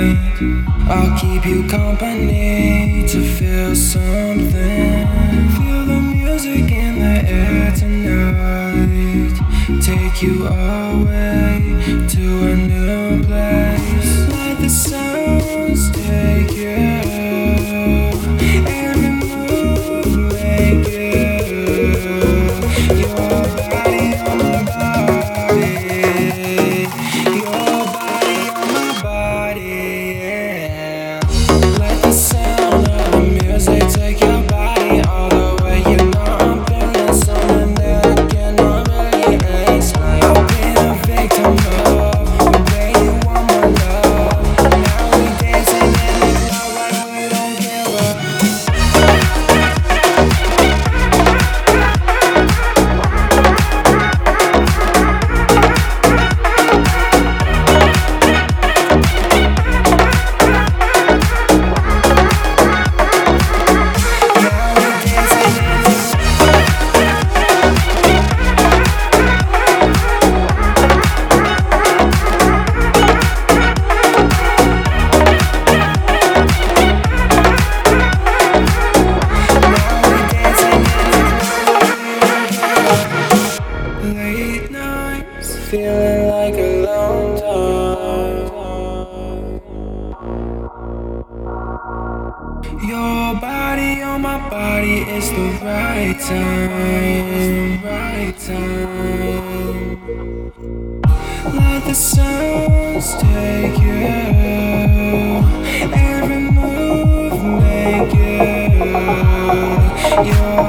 I'll keep you company to feel something. Feel the music in the air tonight. Take you away to a new place. Let the sounds take you. Every move make you. Your body on my body. Your body on my body. Yeah. Let the sound of the music take your body all the way. You know I'm feeling something that I cannot really explain. I've been a victim of the way you want my love. Now we dancing in the club like we don't give up. Late nights, feeling like a long time. Your body on my body is the right time, right time. Let the sounds take you. Every move make you. Your